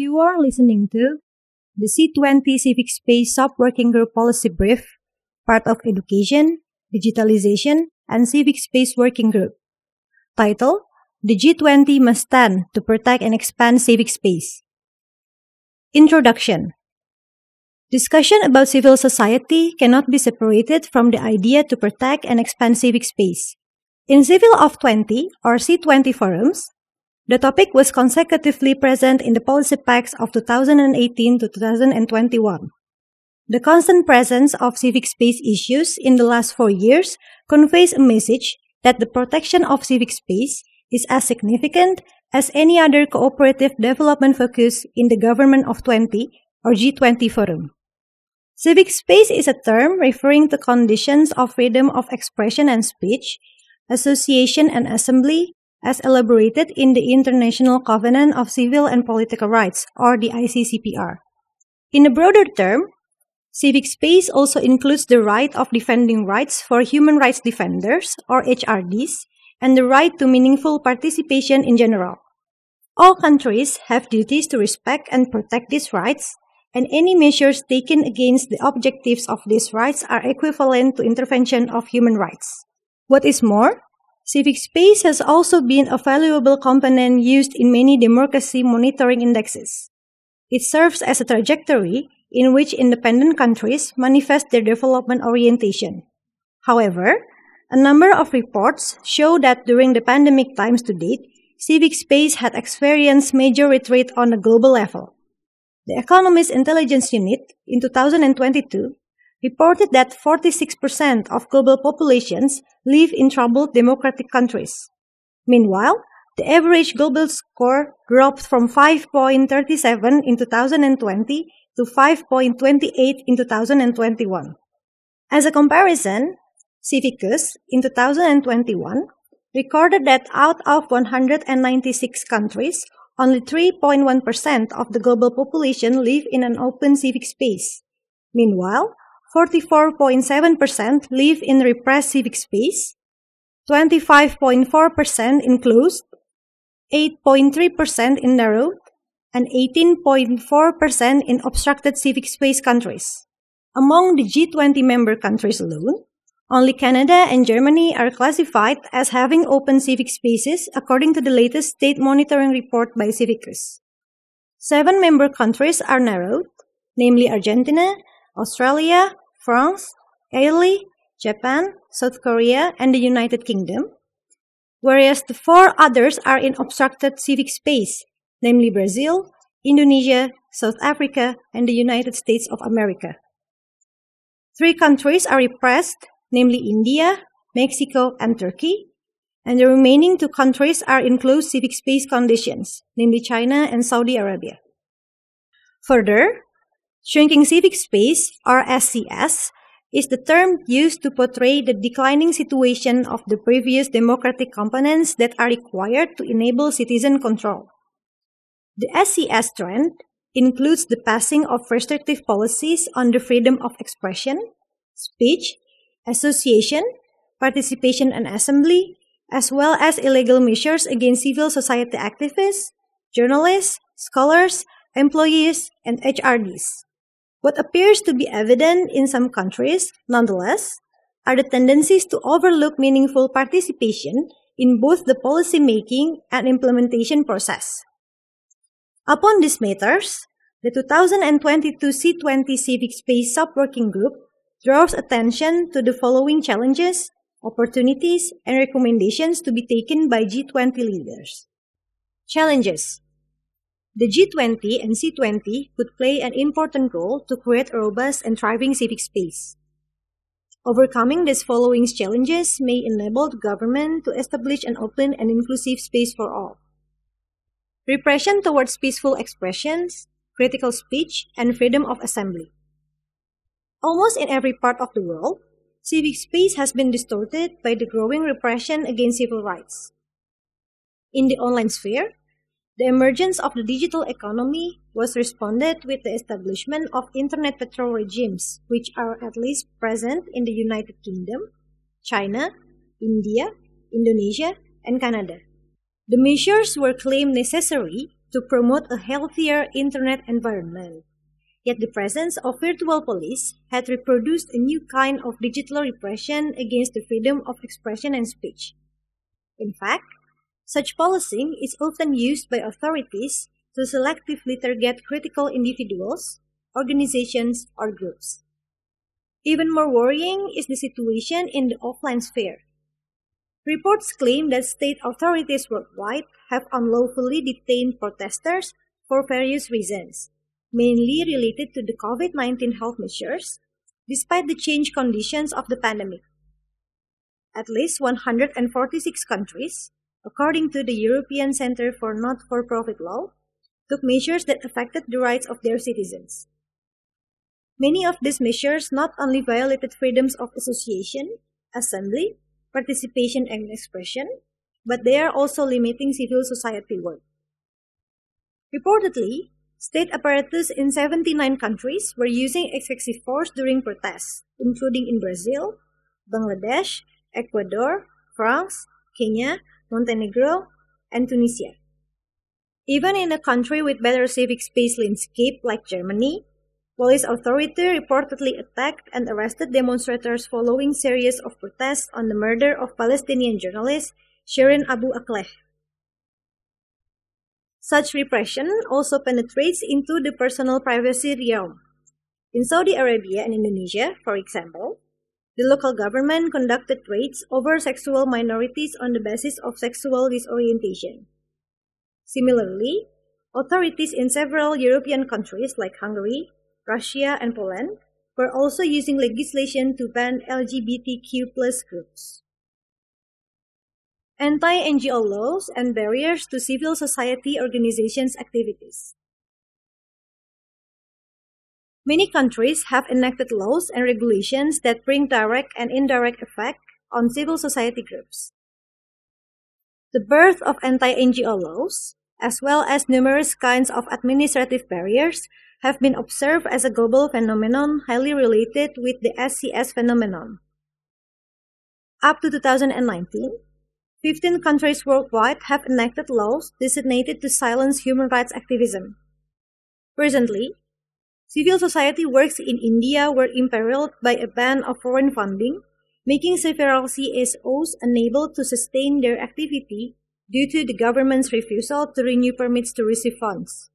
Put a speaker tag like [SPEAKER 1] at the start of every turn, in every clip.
[SPEAKER 1] You are listening to the C20 Civic Space Sub-Working Group Policy Brief, part of Education, Digitalization, and Civic Space Working Group. Title: The G20 Must Stand to Protect and Expand Civic Space. Introduction. Discussion about civil society cannot be separated from the idea to protect and expand civic space. In Civil of 20 or C20 forums, the topic was consecutively present in the policy packs of 2018 to 2021. The constant presence of civic space issues in the last 4 years conveys a message that the protection of civic space is as significant as any other cooperative development focus in the Government of 20 or G20 forum. Civic space is a term referring to conditions of freedom of expression and speech, association and assembly, as elaborated in the International Covenant of Civil and Political Rights, or the ICCPR. In a broader term, civic space also includes the right of defending rights for human rights defenders, or HRDs, and the right to meaningful participation in general. All countries have duties to respect and protect these rights, and any measures taken against the objectives of these rights are equivalent to intervention of human rights. What is more, civic space has also been a valuable component used in many democracy monitoring indexes. It serves as a trajectory in which independent countries manifest their development orientation. However, a number of reports show that during the pandemic times to date, civic space had experienced major retreat on a global level. The Economist Intelligence Unit in 2022 reported that 46% of global populations live in troubled democratic countries. Meanwhile, the average global score dropped from 5.37 in 2020 to 5.28 in 2021. As a comparison, Civicus in 2021 recorded that out of 196 countries, only 3.1% of the global population live in an open civic space. Meanwhile, 44.7% live in repressed civic space, 25.4% in closed, 8.3% in narrowed, and 18.4% in obstructed civic space countries. Among the G20 member countries alone, only Canada and Germany are classified as having open civic spaces according to the latest state monitoring report by Civicus. 7 member countries are narrowed, namely Argentina, Australia, France, Italy, Japan, South Korea, and the United Kingdom, whereas the 4 others are in obstructed civic space, namely Brazil, Indonesia, South Africa, and the United States of America. 3 countries are repressed, namely India, Mexico, and Turkey, and the remaining 2 countries are in closed civic space conditions, namely China and Saudi Arabia. Further, shrinking civic space, or SCS, is the term used to portray the declining situation of the previous democratic components that are required to enable citizen control. The SCS trend includes the passing of restrictive policies on the freedom of expression, speech, association, participation and assembly, as well as illegal measures against civil society activists, journalists, scholars, employees, and HRDs. What appears to be evident in some countries, nonetheless, are the tendencies to overlook meaningful participation in both the policy-making and implementation process. Upon these matters, the 2022 C20 Civic Space Sub-Working Group draws attention to the following challenges, opportunities, and recommendations to be taken by G20 leaders. Challenges. The G20 and C20 could play an important role to create a robust and thriving civic space. Overcoming these following challenges may enable the government to establish an open and inclusive space for all. Repression towards peaceful expressions, critical speech, and freedom of assembly. Almost in every part of the world, civic space has been distorted by the growing repression against civil rights. In the online sphere, the emergence of the digital economy was responded with the establishment of internet patrol regimes, which are at least present in the United Kingdom, China, India, Indonesia, and Canada. The measures were claimed necessary to promote a healthier internet environment. Yet the presence of virtual police had reproduced a new kind of digital repression against the freedom of expression and speech. In fact, such policing is often used by authorities to selectively target critical individuals, organizations, or groups. Even more worrying is the situation in the offline sphere. Reports claim that state authorities worldwide have unlawfully detained protesters for various reasons, mainly related to the COVID-19 health measures, despite the changed conditions of the pandemic. At least 146 countries, according to the European Centre for Not-for-Profit Law, took measures that affected the rights of their citizens. Many of these measures not only violated freedoms of association, assembly, participation, and expression, but they are also limiting civil society work. Reportedly, state apparatus in 79 countries were using excessive force during protests, including in Brazil, Bangladesh, Ecuador, France, Kenya, Montenegro, and Tunisia. Even in a country with better civic space landscape like Germany, police authority reportedly attacked and arrested demonstrators following series of protests on the murder of Palestinian journalist Shirin Abu Akleh. Such repression also penetrates into the personal privacy realm. In Saudi Arabia and Indonesia, for example, the local government conducted raids over sexual minorities on the basis of sexual disorientation. Similarly, authorities in several European countries like Hungary, Russia, and Poland were also using legislation to ban LGBTQ+ groups. Anti-NGO laws and barriers to civil society organizations' activities. Many countries have enacted laws and regulations that bring direct and indirect effect on civil society groups. The birth of anti-NGO laws, as well as numerous kinds of administrative barriers, have been observed as a global phenomenon highly related with the SCS phenomenon. Up to 2019, 15 countries worldwide have enacted laws designated to silence human rights activism. Recently, civil society works in India were imperiled by a ban of foreign funding, making several CSOs unable to sustain their activity due to the government's refusal to renew permits to receive funds.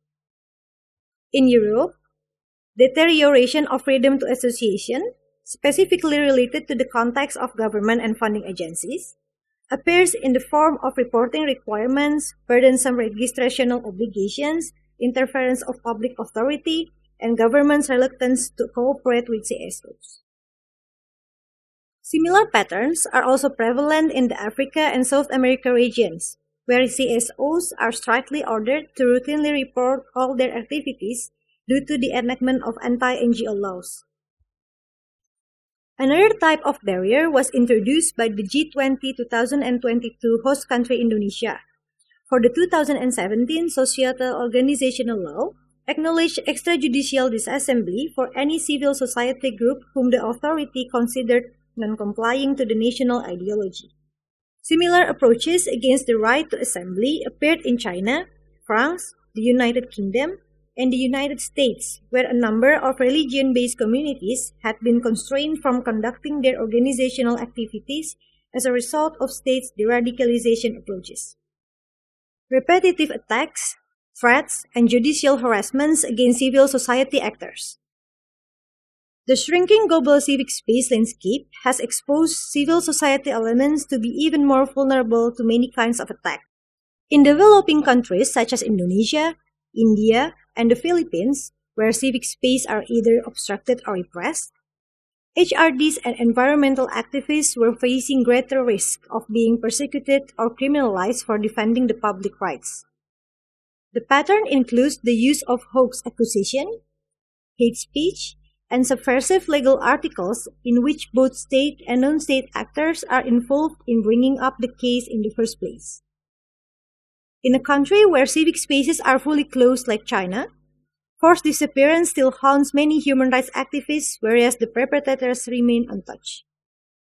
[SPEAKER 1] In Europe, deterioration of freedom to association, specifically related to the context of government and funding agencies, appears in the form of reporting requirements, burdensome registrational obligations, interference of public authority, and government's reluctance to cooperate with CSOs. Similar patterns are also prevalent in the Africa and South America regions, where CSOs are strictly ordered to routinely report all their activities due to the enactment of anti-NGO laws. Another type of barrier was introduced by the G20 2022 host country Indonesia. For the 2017 Societal Organizational Law, acknowledged extrajudicial disassembly for any civil society group whom the authority considered non-complying to the national ideology. Similar approaches against the right to assembly appeared in China, France, the United Kingdom, and the United States, where a number of religion-based communities had been constrained from conducting their organizational activities as a result of states' deradicalization approaches. Repetitive attacks, threats, and judicial harassments against civil society actors. The shrinking global civic space landscape has exposed civil society elements to be even more vulnerable to many kinds of attack. In developing countries such as Indonesia, India, and the Philippines, where civic space are either obstructed or repressed, HRDs and environmental activists were facing greater risk of being persecuted or criminalized for defending the public rights. The pattern includes the use of hoax accusation, hate speech, and subversive legal articles in which both state and non-state actors are involved in bringing up the case in the first place. In a country where civic spaces are fully closed like China, forced disappearance still haunts many human rights activists, whereas the perpetrators remain untouched.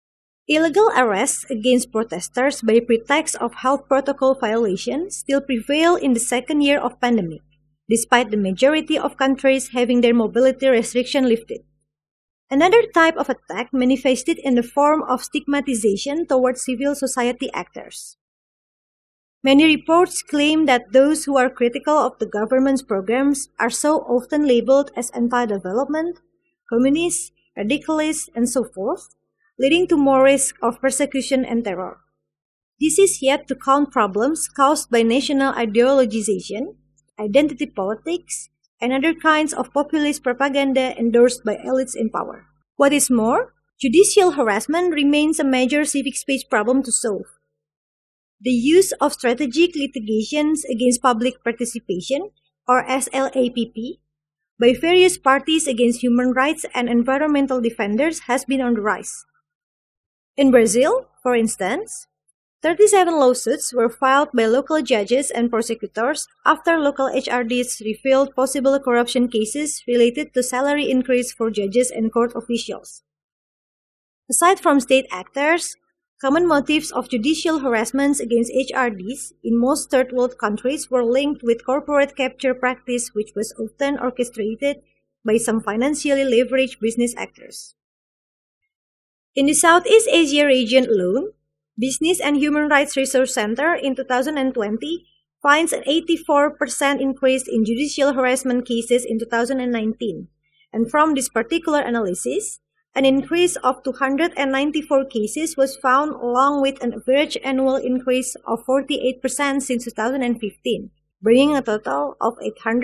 [SPEAKER 1] Illegal arrests against protesters by pretext of health protocol violations still prevail in the second year of pandemic, despite the majority of countries having their mobility restriction lifted. Another type of attack manifested in the form of stigmatization towards civil society actors. Many reports claim that those who are critical of the government's programs are so often labeled as anti-development, communist, radicalist, and so forth, leading to more risk of persecution and terror. This is yet to count problems caused by national ideologization, identity politics, and other kinds of populist propaganda endorsed by elites in power. What is more, judicial harassment remains a major civic space problem to solve. The use of strategic litigations against public participation, or SLAPP, by various parties against human rights and environmental defenders has been on the rise. In Brazil, for instance, 37 lawsuits were filed by local judges and prosecutors after local HRDs revealed possible corruption cases related to salary increase for judges and court officials. Aside from state actors, common motives of judicial harassments against HRDs in most third world countries were linked with corporate capture practice, which was often orchestrated by some financially leveraged business actors. In the Southeast Asia region alone, Business and Human Rights Research Center in 2020 finds an 84% increase in judicial harassment cases in 2019, and from this particular analysis, an increase of 294 cases was found along with an average annual increase of 48% since 2015, bringing a total of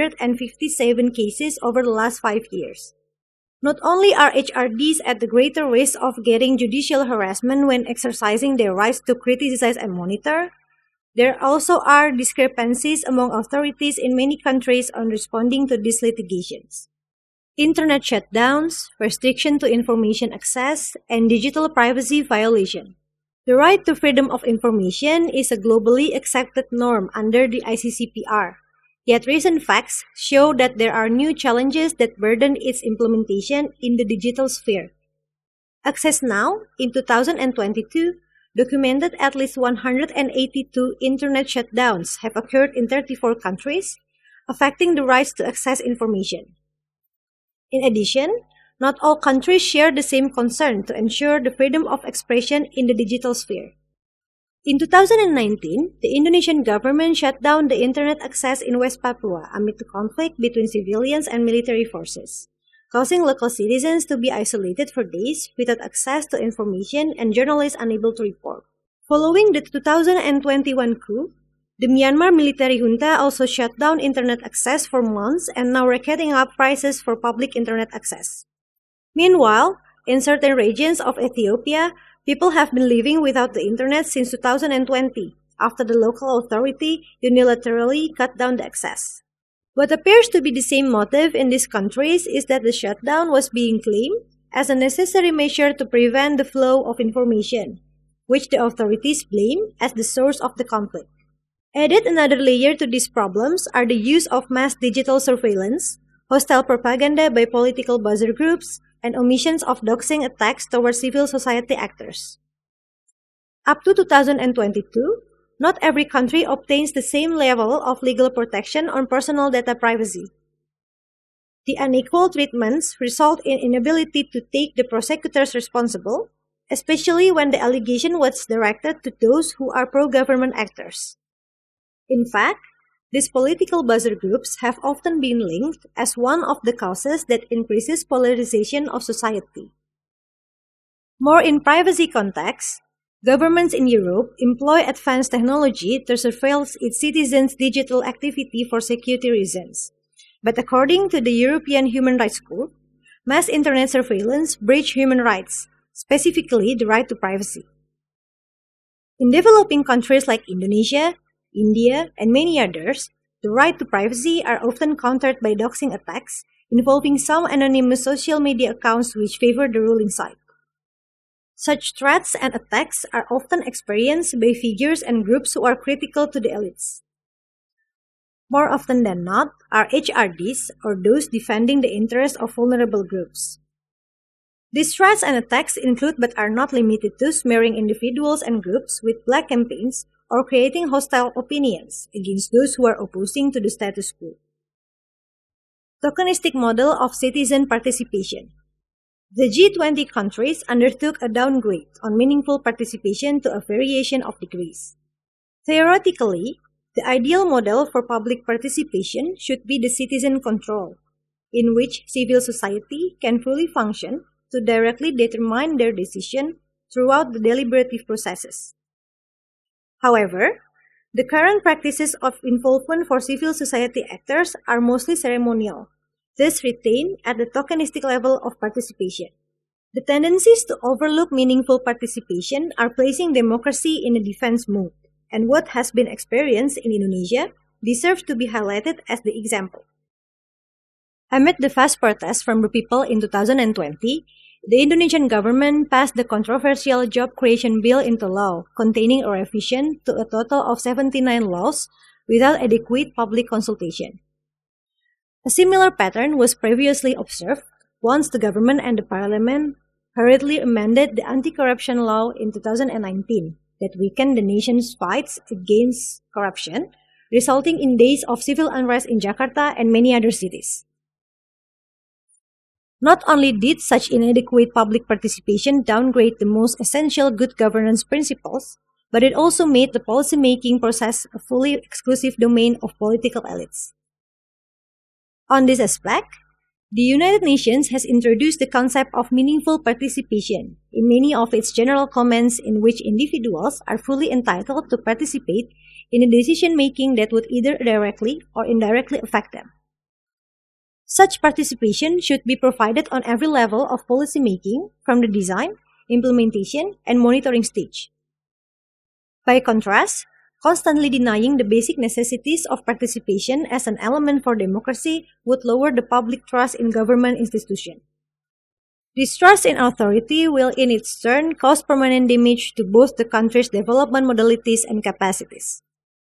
[SPEAKER 1] 857 cases over the last 5 years. Not only are HRDs at the greater risk of getting judicial harassment when exercising their rights to criticize and monitor, there also are discrepancies among authorities in many countries on responding to these litigations. Internet shutdowns, restriction to information access, and digital privacy violation. The right to freedom of information is a globally accepted norm under the ICCPR. Yet recent facts show that there are new challenges that burden its implementation in the digital sphere. Access Now, in 2022, documented at least 182 internet shutdowns have occurred in 34 countries, affecting the rights to access information. In addition, not all countries share the same concern to ensure the freedom of expression in the digital sphere. In 2019, the Indonesian government shut down the internet access in West Papua amid the conflict between civilians and military forces, causing local citizens to be isolated for days without access to information and journalists unable to report. Following the 2021 coup, the Myanmar military junta also shut down internet access for months and now racketing up prices for public internet access. Meanwhile, in certain regions of Ethiopia, people have been living without the internet since 2020, after the local authority unilaterally cut down the access. What appears to be the same motive in these countries is that the shutdown was being claimed as a necessary measure to prevent the flow of information, which the authorities blame as the source of the conflict. Added another layer to these problems are the use of mass digital surveillance, hostile propaganda by political buzzer groups, and omissions of doxing attacks towards civil society actors. Up to 2022, not every country obtains the same level of legal protection on personal data privacy. The unequal treatments result in inability to take the prosecutors responsible, especially when the allegation was directed to those who are pro-government actors. In fact, these political buzzer groups have often been linked as one of the causes that increases polarization of society. More in privacy context, governments in Europe employ advanced technology to surveil its citizens' digital activity for security reasons. But according to the European Human Rights Court, mass internet surveillance breaches human rights, specifically the right to privacy. In developing countries like Indonesia, India, and many others, the right to privacy are often countered by doxing attacks involving some anonymous social media accounts which favor the ruling side. Such threats and attacks are often experienced by figures and groups who are critical to the elites. More often than not are HRDs or those defending the interests of vulnerable groups. These threats and attacks include but are not limited to smearing individuals and groups with black campaigns or creating hostile opinions against those who are opposing to the status quo. Tokenistic model of citizen participation. The G20 countries undertook a downgrade on meaningful participation to a variation of degrees. Theoretically, the ideal model for public participation should be the citizen control, in which civil society can fully function to directly determine their decision throughout the deliberative processes. However, the current practices of involvement for civil society actors are mostly ceremonial, thus retained at the tokenistic level of participation. The tendencies to overlook meaningful participation are placing democracy in a defense mode, and what has been experienced in Indonesia deserves to be highlighted as the example. Amid the vast protests from the people in 2020, the Indonesian government passed the controversial Job Creation Bill into law, containing a revision to a total of 79 laws without adequate public consultation. A similar pattern was previously observed once the government and the parliament hurriedly amended the anti-corruption law in 2019 that weakened the nation's fights against corruption, resulting in days of civil unrest in Jakarta and many other cities. Not only did such inadequate public participation downgrade the most essential good governance principles, but it also made the policymaking process a fully exclusive domain of political elites. On this aspect, the United Nations has introduced the concept of meaningful participation in many of its general comments in which individuals are fully entitled to participate in a decision-making that would either directly or indirectly affect them. Such participation should be provided on every level of policymaking, from the design, implementation, and monitoring stage. By contrast, constantly denying the basic necessities of participation as an element for democracy would lower the public trust in government institutions. Distrust in authority will in its turn cause permanent damage to both the country's development modalities and capacities.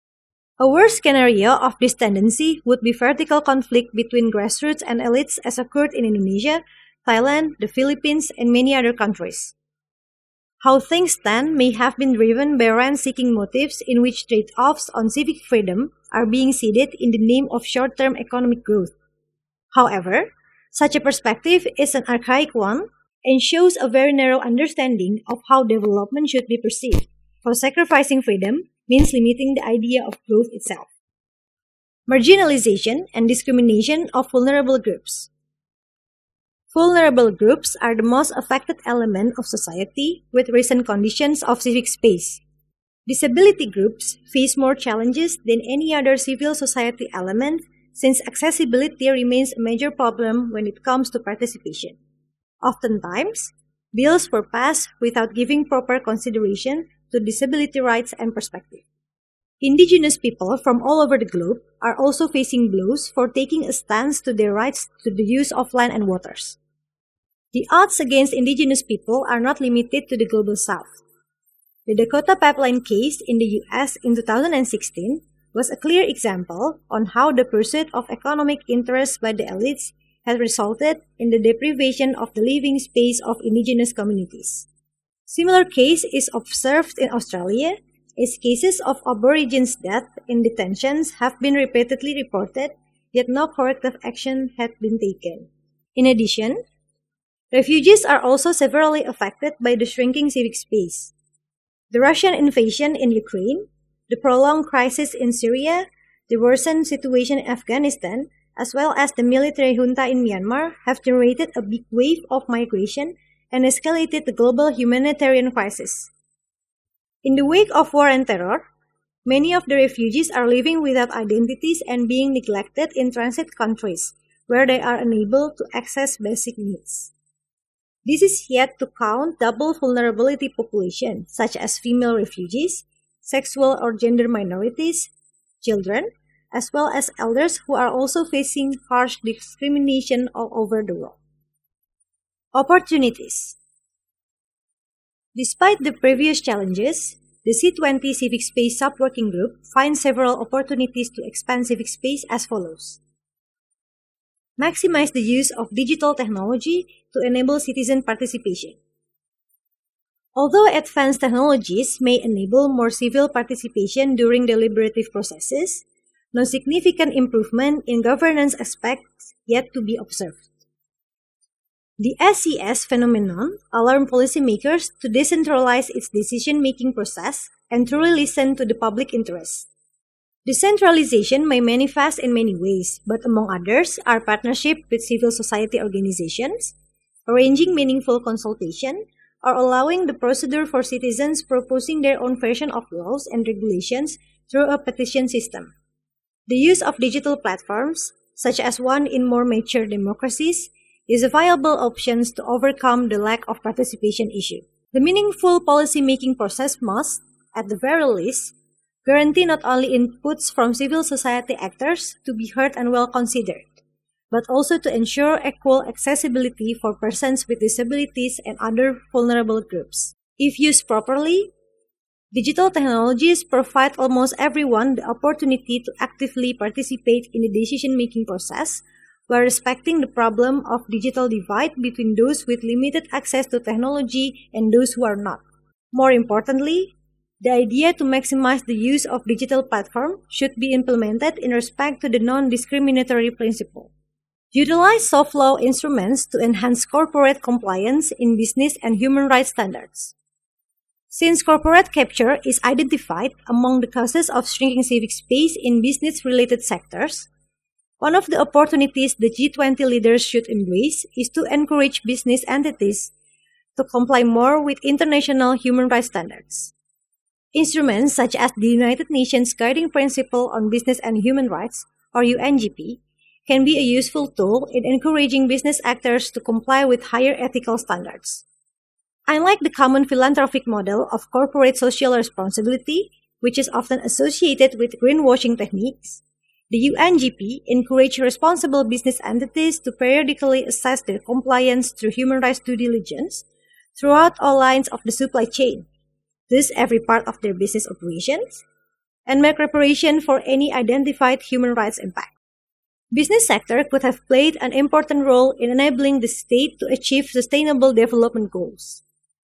[SPEAKER 1] A worst scenario of this tendency would be vertical conflict between grassroots and elites as occurred in Indonesia, Thailand, the Philippines, and many other countries. How things stand may have been driven by rent-seeking motives in which trade-offs on civic freedom are being ceded in the name of short-term economic growth. However, such a perspective is an archaic one and shows a very narrow understanding of how development should be perceived, for sacrificing freedom means limiting the idea of growth itself. Marginalization and discrimination of vulnerable groups. Vulnerable groups are the most affected element of society with recent conditions of civic space. Disability groups face more challenges than any other civil society element since accessibility remains a major problem when it comes to participation. Oftentimes, bills were passed without giving proper consideration to disability rights and perspective. Indigenous people from all over the globe are also facing blows for taking a stance to their rights to the use of land and waters. The odds against indigenous people are not limited to the global south. The Dakota Pipeline case in the US in 2016 was a clear example on how the pursuit of economic interests by the elites has resulted in the deprivation of the living space of indigenous communities. Similar case is observed in Australia, as cases of Aborigines' death in detentions have been repeatedly reported, yet no corrective action had been taken. In addition, refugees are also severely affected by the shrinking civic space. The Russian invasion in Ukraine, the prolonged crisis in Syria, the worsened situation in Afghanistan, as well as the military junta in Myanmar have generated a big wave of migration and escalated the global humanitarian crisis. In the wake of war and terror, many of the refugees are living without identities and being neglected in transit countries, where they are unable to access basic needs. This is yet to count double vulnerability population, such as female refugees, sexual or gender minorities, children, as well as elders who are also facing harsh discrimination all over the world. Opportunities. Despite the previous challenges, the C20 Civic Space Sub-Working Group finds several opportunities to expand civic space as follows. maximize the use of digital technology to enable citizen participation. Although advanced technologies may enable more civil participation during deliberative processes, no significant improvement in governance aspects yet to be observed. The SES phenomenon alarmed policymakers to decentralize its decision-making process and truly listen to the public interest. Decentralization may manifest in many ways, but among others are partnership with civil society organizations, arranging meaningful consultation, or allowing the procedure for citizens proposing their own version of laws and regulations through a petition system. The use of digital platforms, such as one in more mature democracies, is a viable option to overcome the lack of participation issue. The meaningful policy-making process must, at the very least, guarantee not only inputs from civil society actors to be heard and well considered, but also to ensure equal accessibility for persons with disabilities and other vulnerable groups. If used properly, digital technologies provide almost everyone the opportunity to actively participate in the decision-making process while respecting the problem of digital divide between those with limited access to technology and those who are not. More importantly, the idea to maximize the use of digital platform should be implemented in respect to the non-discriminatory principle. Utilize soft law instruments to enhance corporate compliance in business and human rights standards. Since corporate capture is identified among the causes of shrinking civic space in business-related sectors, one of the opportunities the G20 leaders should embrace is to encourage business entities to comply more with international human rights standards. Instruments such as the United Nations Guiding Principle on Business and Human Rights, or UNGP, can be a useful tool in encouraging business actors to comply with higher ethical standards. Unlike the common philanthropic model of corporate social responsibility, which is often associated with greenwashing techniques, the UNGP encourages responsible business entities to periodically assess their compliance through human rights due diligence throughout all lines of the supply chain, thus every part of their business operations, and make reparation for any identified human rights impact. Business sector could have played an important role in enabling the state to achieve sustainable development goals.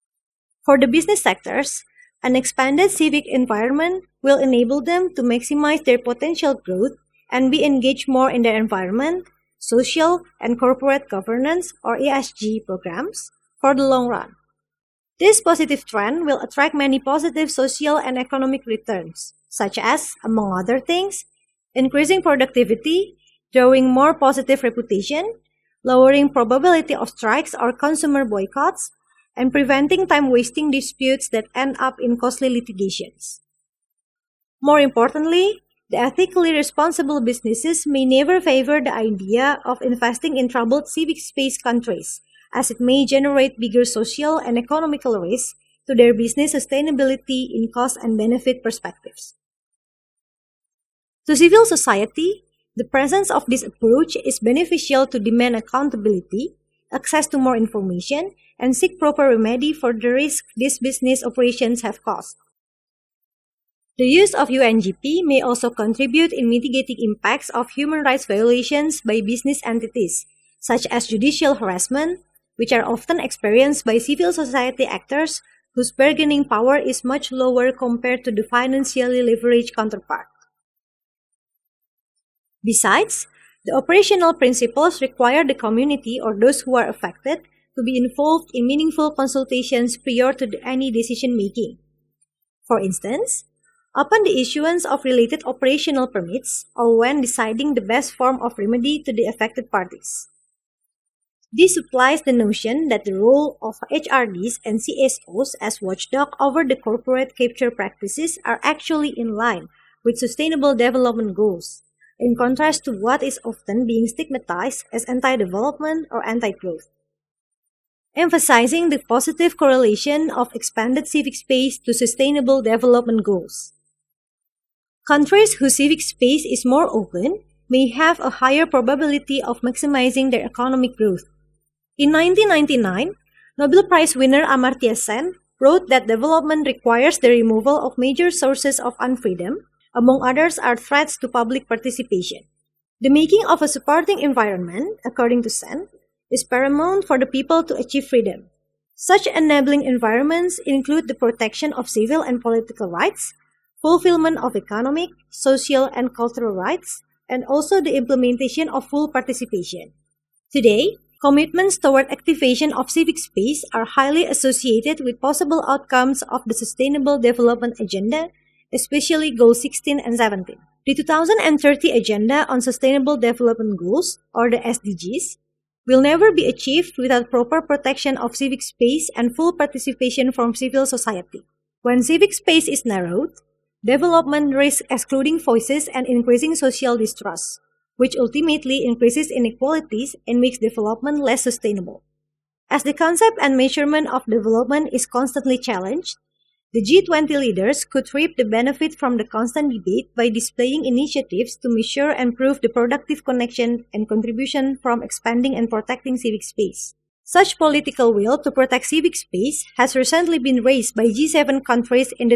[SPEAKER 1] For the business sectors, an expanded civic environment will enable them to maximize their potential growth and be engaged more in their environment, social, and corporate governance or ESG programs for the long run. This positive trend will attract many positive social and economic returns, such as, among other things, increasing productivity, drawing more positive reputation, lowering probability of strikes or consumer boycotts, and preventing time-wasting disputes that end up in costly litigations. More importantly, the ethically responsible businesses may never favor the idea of investing in troubled civic space countries, as it may generate bigger social and economical risks to their business sustainability in cost and benefit perspectives. To civil society, the presence of this approach is beneficial to demand accountability, access to more information, and seek proper remedy for the risk these business operations have caused. The use of UNGP may also contribute in mitigating impacts of human rights violations by business entities, such as judicial harassment, which are often experienced by civil society actors whose bargaining power is much lower compared to the financially leveraged counterpart. Besides, the operational principles require the community or those who are affected to be involved in meaningful consultations prior to any decision-making. For instance, upon the issuance of related operational permits or when deciding the best form of remedy to the affected parties. This supplies the notion that the role of HRDs and CSOs as watchdog over the corporate capture practices are actually in line with sustainable development goals, in contrast to what is often being stigmatized as anti-development or anti-growth. Emphasizing the positive correlation of expanded civic space to sustainable development goals. Countries whose civic space is more open may have a higher probability of maximizing their economic growth. In 1999, Nobel Prize winner Amartya Sen wrote that development requires the removal of major sources of unfreedom, among others are threats to public participation. The making of a supporting environment, according to Sen, is paramount for the people to achieve freedom. Such enabling environments include the protection of civil and political rights, fulfillment of economic, social, and cultural rights, and also the implementation of full participation. Today, commitments toward activation of civic space are highly associated with possible outcomes of the Sustainable Development Agenda, especially Goals 16 and 17. The 2030 Agenda on Sustainable Development Goals, or the SDGs, will never be achieved without proper protection of civic space and full participation from civil society. When civic space is narrowed, development risks excluding voices and increasing social distrust, which ultimately increases inequalities and makes development less sustainable. As the concept and measurement of development is constantly challenged, the G20 leaders could reap the benefit from the constant debate by displaying initiatives to measure and prove the productive connection and contribution from expanding and protecting civic space. Such political will to protect civic space has recently been raised by G7 countries in the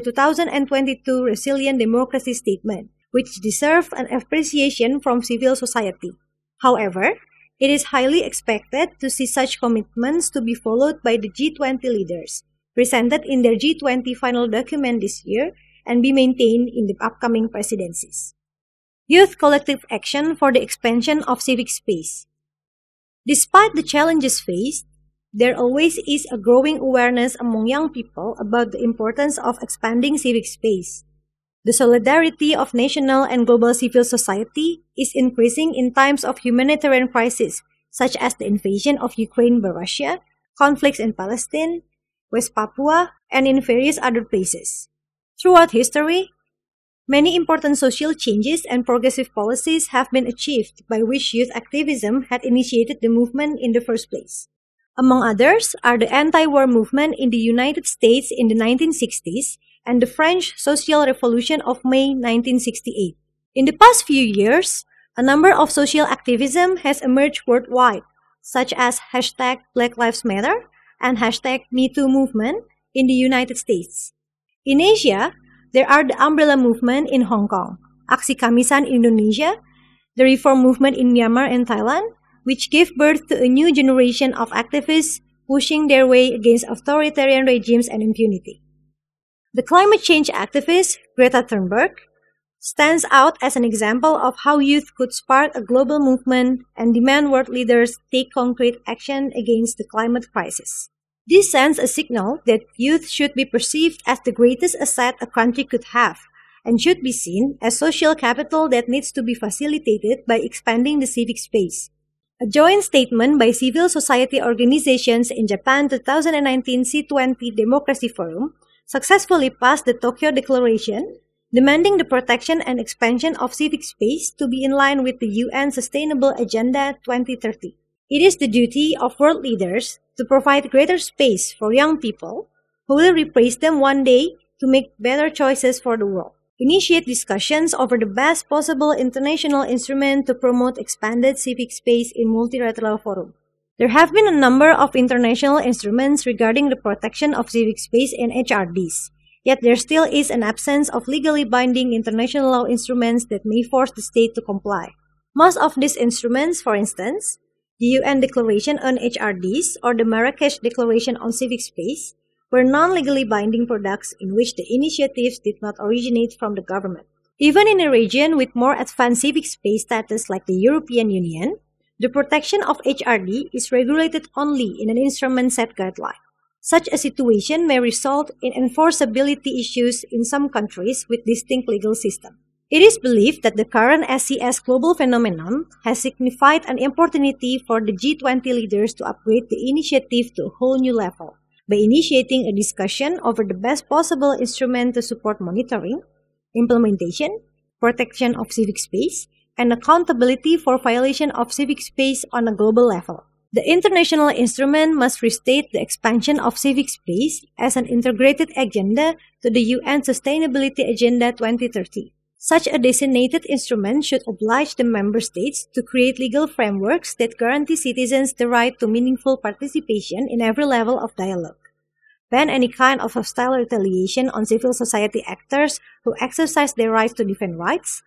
[SPEAKER 1] 2022 Resilient Democracy Statement, which deserve an appreciation from civil society. However, it is highly expected to see such commitments to be followed by the G20 leaders, presented in their G20 final document this year, and be maintained in the upcoming presidencies. Youth collective action for the expansion of civic space. Despite the challenges faced, there always is a growing awareness among young people about the importance of expanding civic space. The solidarity of national and global civil society is increasing in times of humanitarian crisis, such as the invasion of Ukraine by Russia, conflicts in Palestine, West Papua, and in various other places. Throughout history, many important social changes and progressive policies have been achieved by which youth activism had initiated the movement in the first place. Among others are the anti-war movement in the United States in the 1960s and the French Social Revolution of May 1968. In the past few years, a number of social activism has emerged worldwide, such as hashtag Black Lives Matter and hashtag MeToo movement in the United States. In Asia, there are the Umbrella Movement in Hong Kong, Aksi Kamisan in Indonesia, the Reform Movement in Myanmar and Thailand, which gave birth to a new generation of activists pushing their way against authoritarian regimes and impunity. The climate change activist Greta Thunberg stands out as an example of how youth could spark a global movement and demand world leaders take concrete action against the climate crisis. This sends a signal that youth should be perceived as the greatest asset a country could have and should be seen as social capital that needs to be facilitated by expanding the civic space. A joint statement by civil society organizations in Japan 2019 C20 Democracy Forum successfully passed the Tokyo Declaration, demanding the protection and expansion of civic space to be in line with the UN Sustainable Agenda 2030. It is the duty of world leaders to provide greater space for young people who will replace them one day to make better choices for the world. Initiate discussions over the best possible international instrument to promote expanded civic space in multilateral forum. There have been a number of international instruments regarding the protection of civic space in HRDs, yet there still is an absence of legally binding international law instruments that may force the state to comply. Most of these instruments, for instance, the UN Declaration on HRDs or the Marrakesh Declaration on Civic Space, were non-legally binding products in which the initiatives did not originate from the government. Even in a region with more advanced civic space status like the European Union, the protection of HRD is regulated only in an instrument set guideline. Such a situation may result in enforceability issues in some countries with distinct legal systems. It is believed that the current SCS global phenomenon has signified an opportunity for the G20 leaders to upgrade the initiative to a whole new level by initiating a discussion over the best possible instrument to support monitoring, implementation, protection of civic space, and accountability for violation of civic space on a global level. The international instrument must restate the expansion of civic space as an integrated agenda to the UN Sustainability Agenda 2030. Such a designated instrument should oblige the member states to create legal frameworks that guarantee citizens the right to meaningful participation in every level of dialogue, ban any kind of hostile retaliation on civil society actors who exercise their rights to defend rights,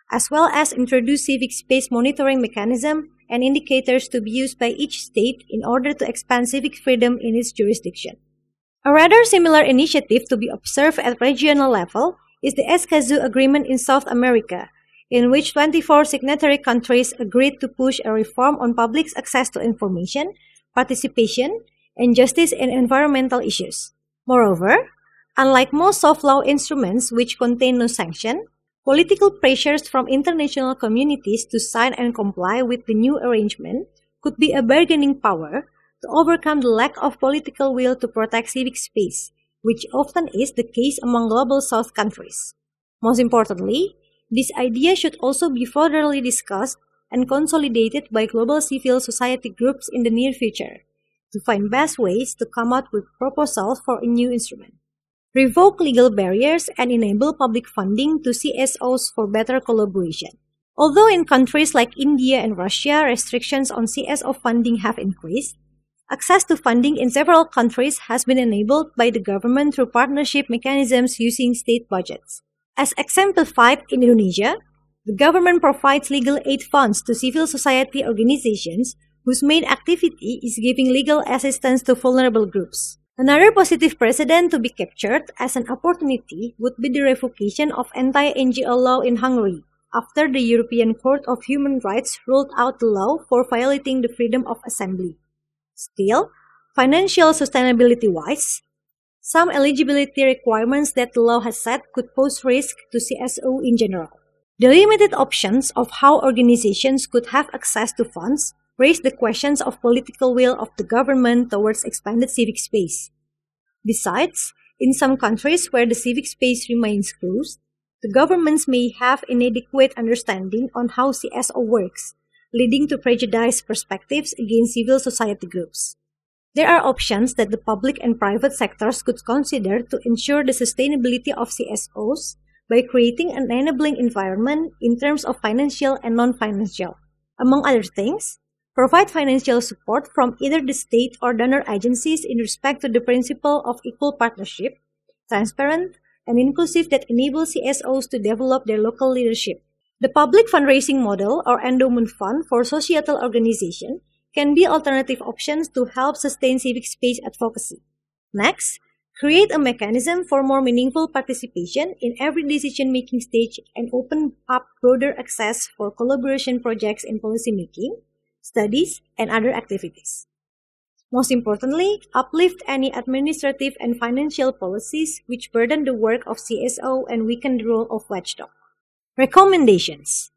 [SPEAKER 1] as well as introduce civic space monitoring mechanism and indicators to be used by each state in order to expand civic freedom in its jurisdiction. A rather similar initiative to be observed at regional level is the Escazú Agreement in South America, in which 24 signatory countries agreed to push a reform on public access to information, participation, and justice in environmental issues. Moreover, unlike most soft law instruments which contain no sanction, political pressures from international communities to sign and comply with the new arrangement could be a bargaining power to overcome the lack of political will to protect civic space, which often is the case among global South countries. Most importantly, this idea should also be furtherly discussed and consolidated by global civil society groups in the near future to find best ways to come up with proposals for a new instrument. Revoke legal barriers and enable public funding to CSOs for better collaboration. Although in countries like India and Russia, restrictions on CSO funding have increased, access to funding in several countries has been enabled by the government through partnership mechanisms using state budgets. As exemplified in Indonesia, the government provides legal aid funds to civil society organizations whose main activity is giving legal assistance to vulnerable groups. Another positive precedent to be captured as an opportunity would be the revocation of anti-NGO law in Hungary, after the European Court of Human Rights ruled out the law for violating the freedom of assembly. Still, financial sustainability-wise, some eligibility requirements that the law has set could pose risk to CSO in general. The limited options of how organizations could have access to funds raise the questions of political will of the government towards expanded civic space. Besides, in some countries where the civic space remains closed, the governments may have inadequate understanding on how CSO works, leading to prejudiced perspectives against civil society groups. There are options that the public and private sectors could consider to ensure the sustainability of CSOs by creating an enabling environment in terms of financial and non-financial. Among other things, provide financial support from either the state or donor agencies in respect to the principle of equal partnership, transparent, and inclusive that enables CSOs to develop their local leadership. The public fundraising model or endowment fund for societal organization can be alternative options to help sustain civic space advocacy. Next, create a mechanism for more meaningful participation in every decision-making stage and open up broader access for collaboration projects in policymaking, studies, and other activities. Most importantly, uplift any administrative and financial policies which burden the work of CSO and weaken the role of watchdog. Recommendations.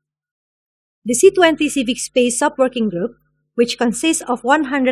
[SPEAKER 1] The C20 Civic Space Sub-Working Group, which consists of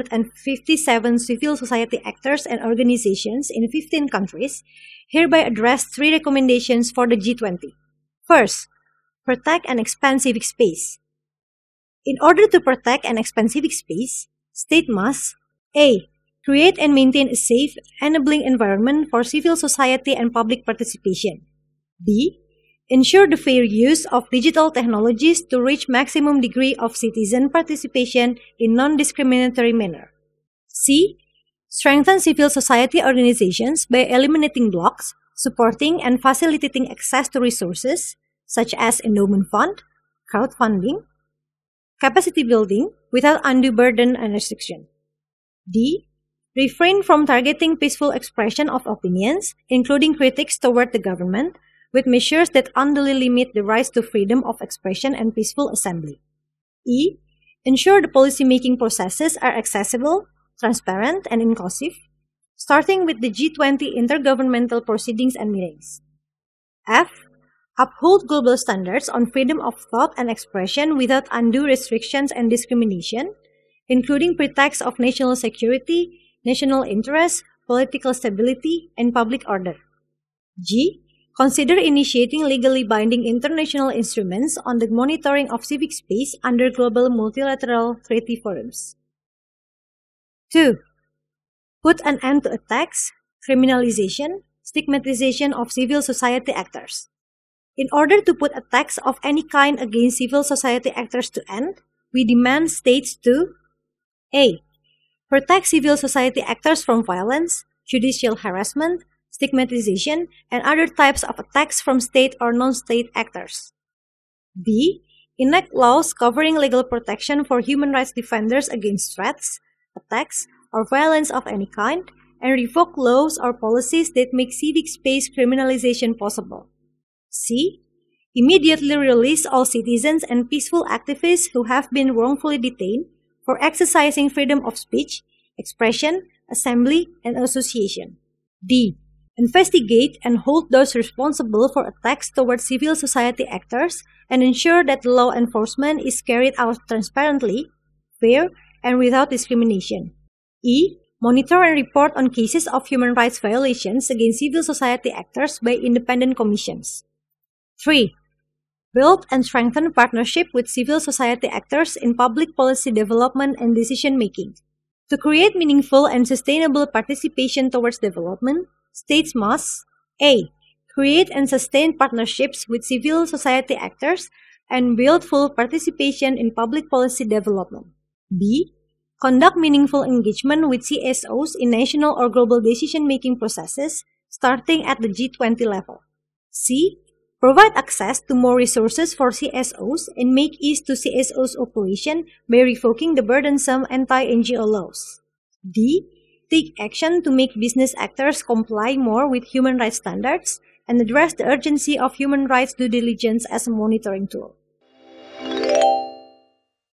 [SPEAKER 1] 157 civil society actors and organizations in 15 countries, hereby addressed 3 recommendations for the G20. First, protect and expand civic space. In order to protect and expand civic space, state must A. Create and maintain a safe, enabling environment for civil society and public participation. B. Ensure the fair use of digital technologies to reach maximum degree of citizen participation in non-discriminatory manner. C. Strengthen civil society organizations by eliminating blocks, supporting and facilitating access to resources such as endowment fund, crowdfunding, capacity building without undue burden and restriction. D. Refrain from targeting peaceful expression of opinions, including critiques toward the government, with measures that unduly limit the rights to freedom of expression and peaceful assembly. E. Ensure the policymaking processes are accessible, transparent, and inclusive, starting with the G20 intergovernmental proceedings and meetings. F. Uphold global standards on freedom of thought and expression without undue restrictions and discrimination, including pretexts of national security, national interest, political stability, and public order. G. Consider initiating legally binding international instruments on the monitoring of civic space under global multilateral treaty forums. 2. Put an end to attacks, criminalization, stigmatization of civil society actors. In order to put attacks of any kind against civil society actors to end, we demand states to A. Protect civil society actors from violence, judicial harassment, stigmatization, and other types of attacks from state or non-state actors. D. Enact laws covering legal protection for human rights defenders against threats, attacks, or violence of any kind, and revoke laws or policies that make civic space criminalization possible. C. Immediately release all citizens and peaceful activists who have been wrongfully detained for exercising freedom of speech, expression, assembly, and association. D. Investigate and hold those responsible for attacks toward civil society actors and ensure that the law enforcement is carried out transparently, fair, and without discrimination. E. Monitor and report on cases of human rights violations against civil society actors by independent commissions. 3. Build and strengthen partnership with civil society actors in public policy development and decision-making. To create meaningful and sustainable participation towards development, states must A. Create and sustain partnerships with civil society actors and build full participation in public policy development. B. Conduct meaningful engagement with CSOs in national or global decision-making processes, starting at the G20 level. C. Provide access to more resources for CSOs and make ease to CSOs' operation by revoking the burdensome anti-NGO laws. D. Take action to make business actors comply more with human rights standards and address the urgency of human rights due diligence as a monitoring tool.